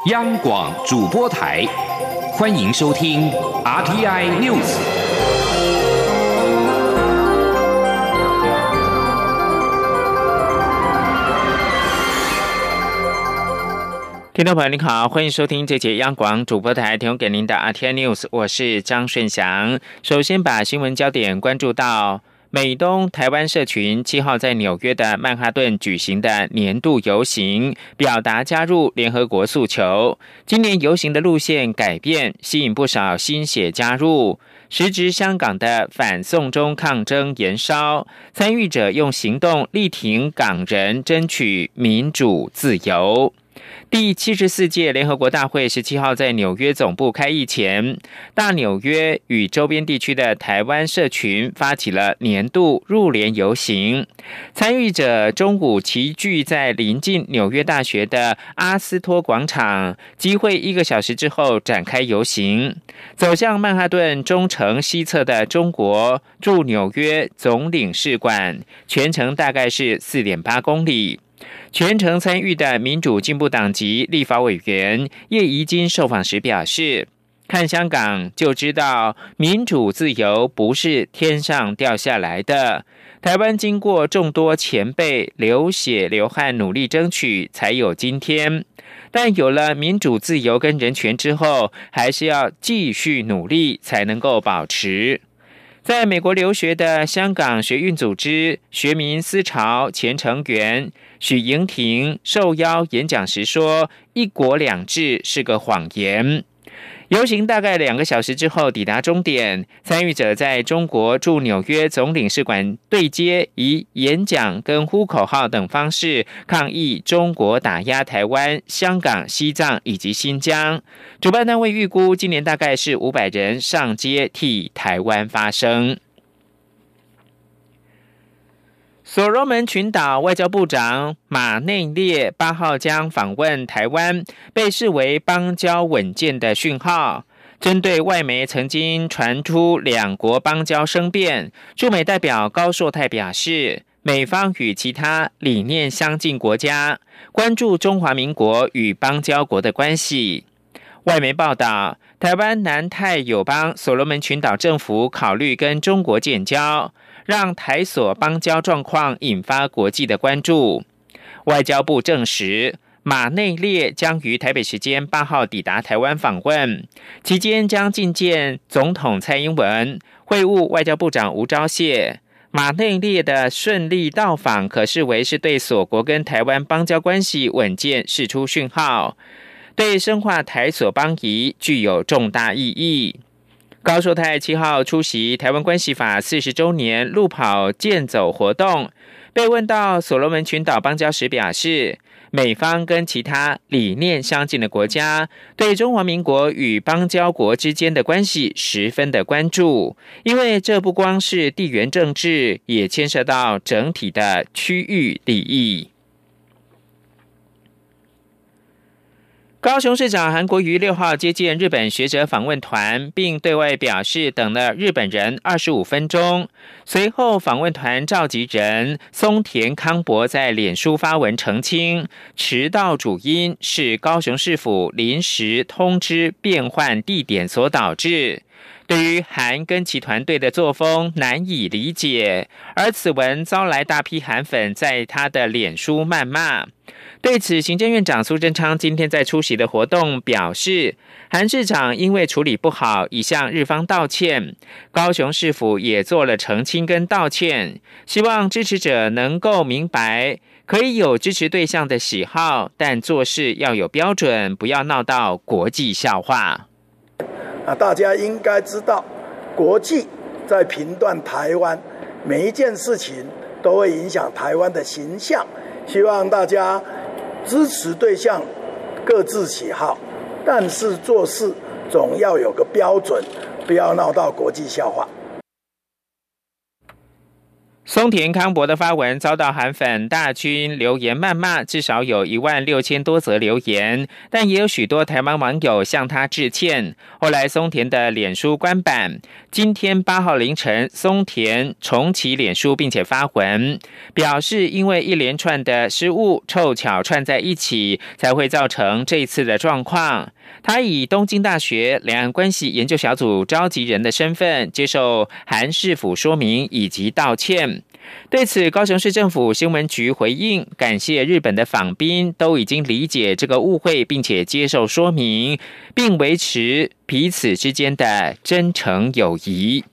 央广主播台，欢迎收听 RTI News。 听众朋友您好，欢迎收听这节央广主播台提供给您的 RTI News， 我是张顺祥。首先把新闻焦点关注到美东台湾社群7号在纽约的曼哈顿举行的年度游行，表达加入联合国诉求。今年游行的路线改变，吸引不少新血加入。时值香港的反送中抗争延烧，参与者用行动力挺港人争取民主自由。第74届联合国大会17号在纽约总部开议前，大纽约与周边地区的台湾社群发起了年度入联游行。参与者中午齐聚在临近纽约大学的阿斯托广场，集会1个小时之后展开游行，走向曼哈顿中城西侧的中国驻纽约总领事馆，全程大概是4.8公里。全程参与的民主进步党籍立法委员叶宜津受访时表示，看香港就知道民主自由不是天上掉下来的，台湾经过众多前辈流血流汗努力争取才有今天，但有了民主自由跟人权之后，还是要继续努力才能够保持。在美国留学的香港学运组织学民思潮前成员许莹婷受邀演讲时说，一国两制是个谎言。游行大概2个小时之后抵达终点，参与者在中国驻纽约总领事馆对接，以演讲跟呼口号等方式抗议中国打压台湾、香港、西藏以及新疆。主办单位预估今年大概是500人上街替台湾发声。所罗门群岛外交部长马内列8号将访问台湾，被视为邦交稳健的讯号。针对外媒曾经传出两国邦交生变，驻美代表高硕泰表示，美方与其他理念相近国家关注中华民国与邦交国的关系。外媒报道，台湾南太友邦所罗门群岛政府考虑跟中国建交，让台所邦交状况引发国际的关注。外交部证实，马内列将于台北时间8号抵达台湾访问，期间将觐见总统蔡英文，会晤外交部长吴钊燮。马内列的顺利到访，可视为是对所国跟台湾邦交关系稳健释出讯号，对深化台所邦谊具有重大意义。高硕泰7号出席台湾关系法40周年路跑健走活动，被问到所罗门群岛邦交时表示，美方跟其他理念相近的国家对中华民国与邦交国之间的关系十分的关注，因为这不光是地缘政治，也牵涉到整体的区域利益。高雄市长韩国瑜6号接见日本学者访问团，并对外表示等了日本人25分钟。随后，访问团召集人松田康博在脸书发文澄清，迟到主因是高雄市府临时通知变换地点所导致。对于韩跟其团队的作风难以理解，而此文遭来大批韩粉在他的脸书谩骂。对此，行政院长苏贞昌今天在出席的活动表示，韩市长因为处理不好，已向日方道歉，高雄市府也做了澄清跟道歉，希望支持者能够明白，可以有支持对象的喜好，但做事要有标准，不要闹到国际笑话。 大家应该知道，国际在评断台湾每一件事情都会影响台湾的形象，希望大家支持对象各自喜好，但是做事总要有个标准，不要闹到国际笑话。 松田康博的发文遭到韩粉大军留言谩骂，至少有16000多则留言，但也有许多台湾网友向他致歉。后来松田的脸书关版，今天8号凌晨，松田重启脸书，并且发文表示，因为一连串的失误凑巧串在一起，才会造成这一次的状况。他以东京大学两岸关系研究小组召集人的身份接受韩市府说明以及道歉。对此，高雄市政府新闻局回应，感谢日本的访宾都已经理解这个误会，并且接受说明，并维持彼此之间的真诚友谊。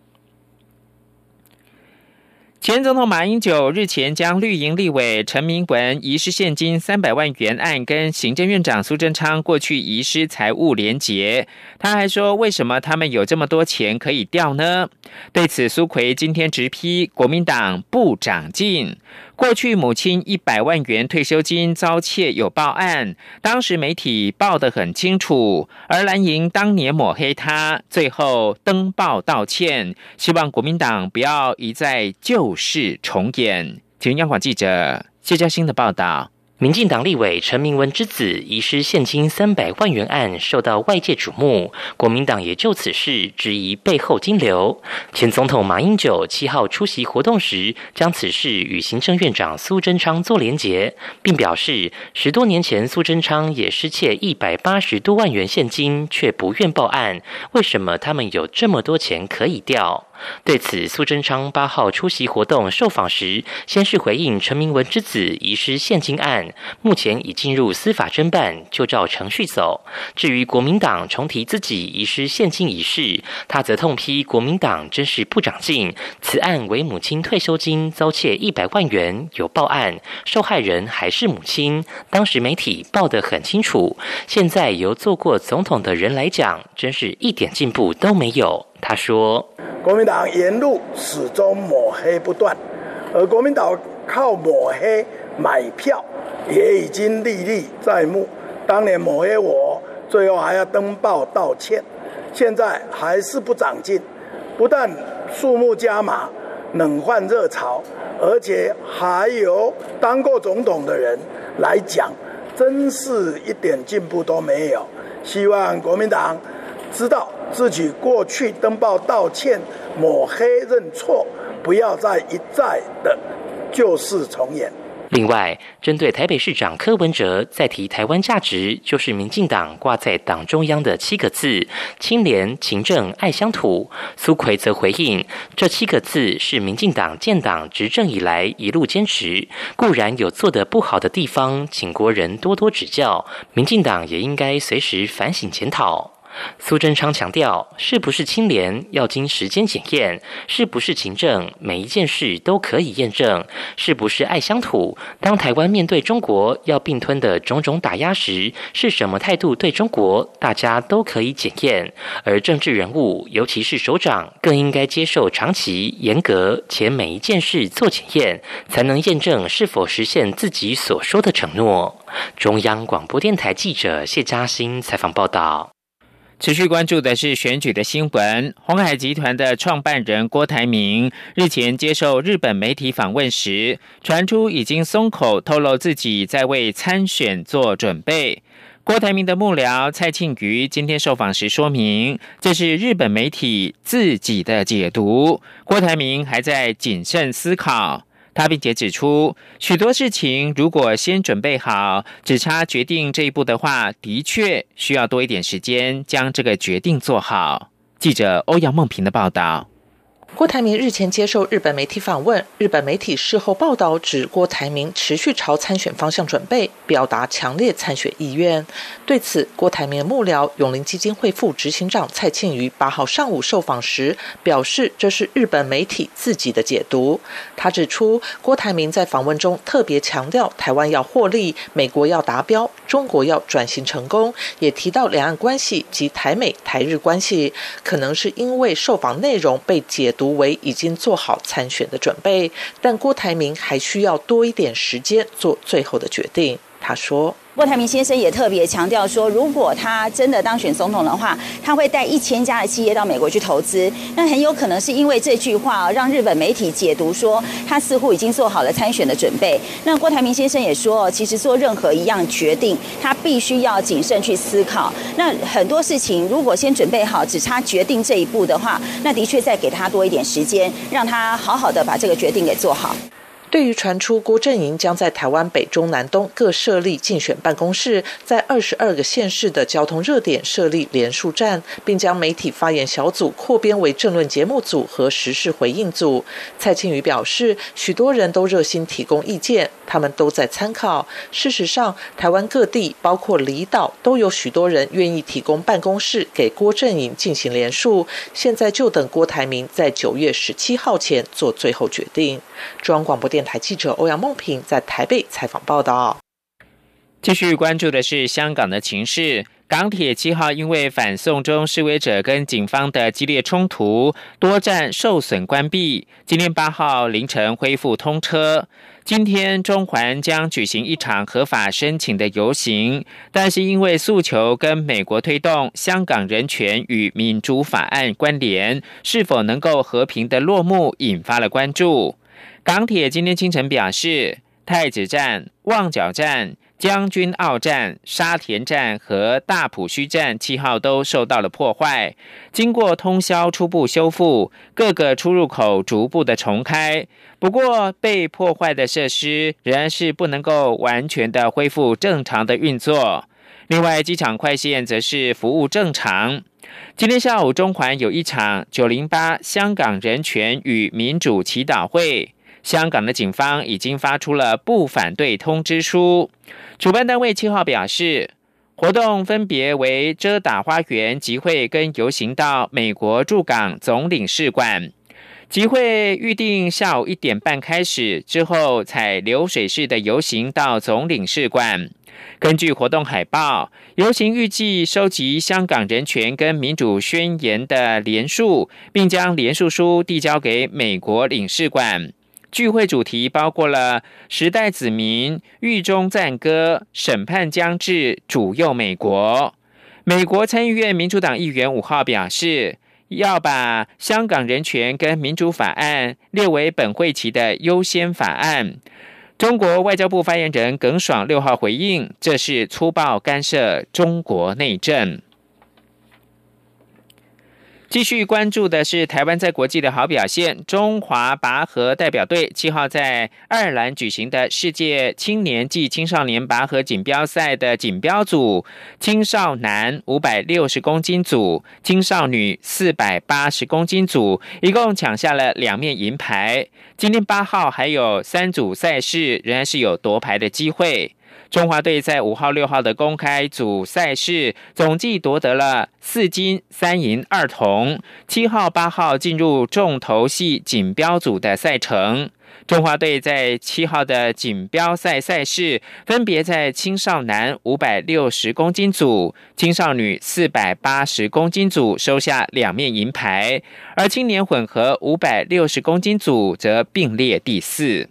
前总统马英九日前将绿营立委陈明文遗失现金300万元案跟行政院长苏贞昌过去遗失财物连结。他还说，为什么他们有这么多钱可以调呢？对此，苏揆今天直批国民党不长进。过去母亲100万元退休金遭窃有报案，当时媒体报得很清楚，而蓝营当年抹黑他，最后登报道歉，希望国民党不要一再旧事重演。请央广记者谢嘉欣的报道。 民进党立委陈明文之子遗失现金300万元案受到外界瞩目，国民党也就此事质疑背后金流。前总统马英九7号出席活动时，将此事与行政院长苏贞昌做连结，并表示10多年前苏贞昌也失窃180多万元现金，却不愿报案，为什么他们有这么多钱可以调？对此，苏贞昌8号出席活动受访时，先是回应陈明文之子遗失现金案，目前已进入司法侦办，就照程序走。至于国民党重提自己遗失现金一事，他则痛批国民党真是不长进。此案为母亲退休金遭窃100万元，有报案，受害人还是母亲，当时媒体报得很清楚。现在由做过总统的人来讲，真是一点进步都没有。他说， 国民党沿路始终抹黑不断，而国民党靠抹黑买票也已经历历在目。当年抹黑我，最后还要登报道歉，现在还是不长进，不但数目加码，冷饭热炒，而且还有当过总统的人来讲，真是一点进步都没有。希望国民党知道自己过去登报道歉、抹黑认错，不要再一再的旧事重演。 另外，针对台北市长柯文哲在提台湾价值，就是民进党挂在党中央的7个字：清廉、勤政、爱乡土。苏揆则回应，这7个字是民进党建党执政以来一路坚持，固然有做得不好的地方，请国人多多指教，民进党也应该随时反省检讨。苏贞昌强调，是不是清廉要经时间检验，是不是勤政每一件事都可以验证，是不是爱乡土，当台湾面对中国要并吞的种种打压时，是什么态度对中国，大家都可以检验。而政治人物，尤其是首长，更应该接受长期、严格且每一件事做检验，才能验证是否实现自己所说的承诺。中央广播电台记者谢嘉欣采访报道。 持续关注的是选举的新闻。鸿海集团的创办人郭台铭日前接受日本媒体访问时，传出已经松口透露自己在为参选做准备。郭台铭的幕僚蔡庆瑜今天受访时说明，这是日本媒体自己的解读，郭台铭还在谨慎思考。他并且指出，许多事情如果先准备好，只差决定这一步的话，的确需要多一点时间将这个决定做好。记者欧阳梦平的报道。 郭台铭日前接受日本媒体访问，日本媒体事后报道指郭台铭持续朝参选方向准备，表达强烈参选意愿。对此，郭台铭的幕僚永林基金会副执行长蔡庆瑜8号上午受访时表示，这是日本媒体自己的解读。他指出，郭台铭在访问中特别强调台湾要获利，美国要达标，中国要转型成功，也提到两岸关系及台美台日关系，可能是因为受访内容被解读为已经做好参选的准备，但郭台铭还需要多一点时间做最后的决定。他说， 郭台铭先生也特别强调说，如果他真的当选总统的话，他会带1000家的企业到美国去投资。那很有可能是因为这句话让日本媒体解读说他似乎已经做好了参选的准备。那郭台铭先生也说，其实做任何一样决定，他必须要谨慎去思考。那很多事情如果先准备好，只差决定这一步的话，那的确再给他多一点时间，让他好好的把这个决定给做好。 对于传出郭阵营将在台湾北中南东各设立竞选办公室，在22个县市的交通热点设立联署站，并将媒体发言小组扩编为政论节目组和时事回应组，蔡清瑜表示，许多人都热心提供意见，他们都在参考。事实上，台湾各地包括离岛都有许多人愿意提供办公室给郭阵营进行联署，现在就等郭台铭在9月17号前做最后决定。中央广播电台记者欧阳梦平在台北采访报道。 继续关注的是香港的情势。港铁7号因为反送中示威者跟警方的激烈冲突，多站受损关闭。今天8号凌晨恢复通车。今天中环将举行一场合法申请的游行，但是因为诉求跟美国推动香港人权与民主法案关联，是否能够和平的落幕，引发了关注。港铁今天清晨表示，太子站、旺角站、将军澳站、沙田站和大埔墟站7号都受到了破坏，经过通宵初步修复，各个出入口逐步的重开。不过被破坏的设施仍然是不能够完全的恢复正常的运作。另外，机场快线则是服务正常。今天下午中环有一场908香港人权与民主祈祷会，香港的警方已经发出了不反对通知书。主办单位7号表示，活动分别为遮打花园集会跟游行到美国驻港总领事馆。集会预定下午1点半开始，之后采流水式的游行到总领事馆。根据活动海报，游行预计收集香港人权跟民主宣言的联署，并将联署书递交给美国领事馆。聚会主题包括了时代子民、狱中赞歌、审判将至、主佑美国。美国参议院民主党议员5号表示，要把香港人权跟民主法案列为本会期的优先法案。中国外交部发言人耿爽6号回应，这是粗暴干涉中国内政。继续关注的是台湾在国际的好表现。中华拔河代表队7号在爱尔兰举行的世界青年暨青少年拔河锦标赛的锦标组青少男560公斤组、青少女480公斤组，一共抢下了2面银牌。今天8号还有3组赛事仍然是有夺牌的机会。中华队在5号、6号的公开组赛事总计夺得了4金、3银、2铜。7号、8号进入重头戏锦标组的赛程。中华队在7号的锦标赛赛事，分别在青少男560公斤组、青少女480公斤组收下2面银牌，而青年混合560公斤组则并列第4。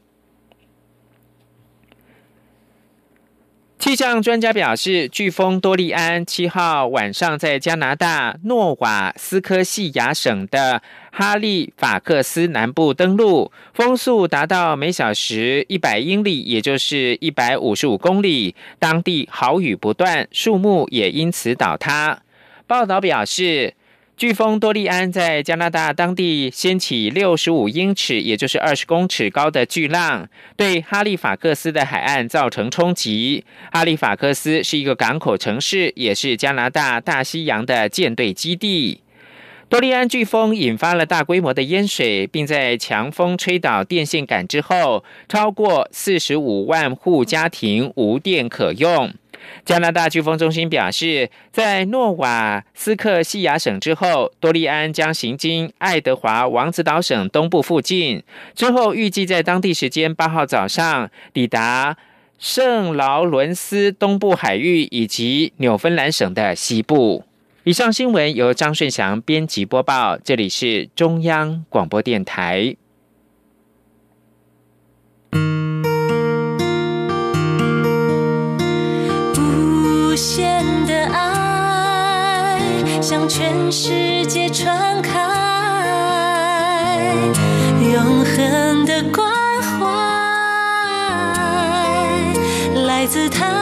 气象专家表示，飓风多利安7号晚上在加拿大诺瓦斯科西亚省的哈利法克斯南部登陆，风速达到每小时100英里，也就是155公里，当地豪雨不断，树木也因此倒塌。报道表示，飓风多利安在加拿大当地掀起65英尺，也就是20公尺高的巨浪，对哈利法克斯的海岸造成冲击。哈利法克斯是一个港口城市，也是加拿大大西洋的舰队基地。多利安飓风引发了大规模的淹水，并在强风吹倒电线杆之后，超过45万户家庭无电可用。加拿大飓风中心表示，在诺瓦斯克西亚省之后，多利安将行经爱德华王子岛省东部附近，之后预计在当地时间8号早上抵达圣劳伦斯东部海域以及纽芬兰省的西部。以上新闻由张顺祥编辑播报，这里是中央广播电台。 不全世界传开，永恒的关怀来自他